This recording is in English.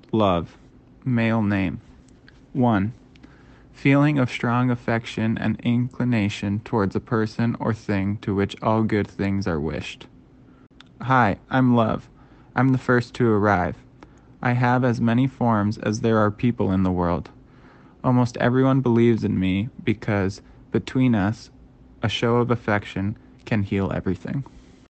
Love. Male name. 1. Feeling of strong affection and inclination towards a person or thing to which all good things are wished. Hi, I'm Love. I'm the first to arrive. I have as many forms as there are people in the world. Almost everyone believes in me because, between us, a show of affection can heal everything.